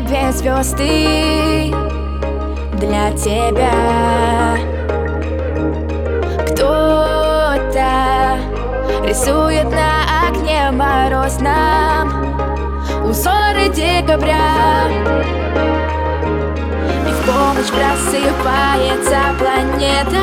небе звезды для тебя. Кто-то рисует на окне морозном узоры декабря, и в полночь просыпается планета,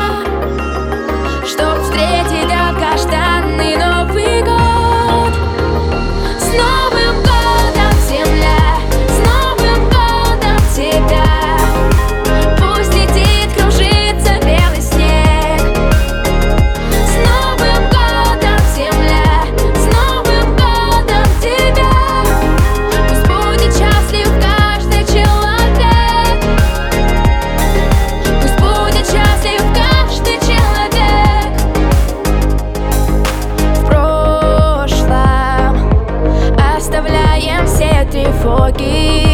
чтоб встретить долгожданный Новый год. С Новым годом, Земля! С Новым годом тебя! Пусть летит, кружится белый снег. С Новым годом, Земля! С Новым годом тебя! Пусть будет счастлив каждый человек. Пусть будет счастлив каждый человек. В прошлом оставляем все тревоги